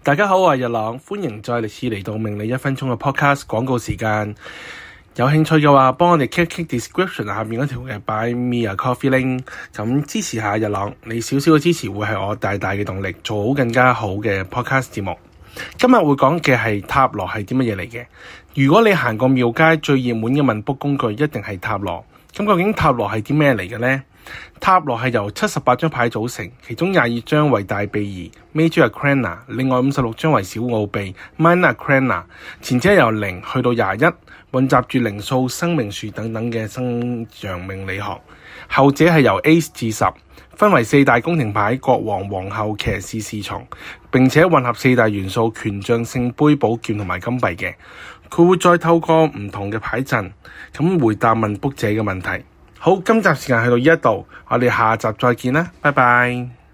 大家好，我係日朗，歡迎再次嚟到命理1分鐘嘅 podcast 廣告時間。有興趣嘅話，幫我哋 click description 下面嗰條嘅 Buy Me a Coffee link， 咁支持下日朗。你少少嘅支持會係我大大嘅動力，做好更加好嘅 podcast 節目。今日會講嘅係塔羅係啲乜嘢嚟嘅。如果你行過廟街，最熱門嘅問卜工具一定係塔羅。咁究竟塔羅係啲咩嚟嘅呢？塔羅係由78張牌組成，其中22張為大秘儀 Major Arcana， 另外56張為小奧秘 Minor Arcana。前者由0去到21，混雜住靈數、生命樹等等嘅生陽命理學。後者係由 A 至10，分為4大宮廷牌：國王、皇后、騎士、侍從，並且混合4大元素：權杖、聖杯、寶劍同埋金幣嘅。佢會再透過唔同嘅牌陣，咁回答問卜者嘅問題。好，今集時間去到呢一度，我哋下集再見啦，拜拜。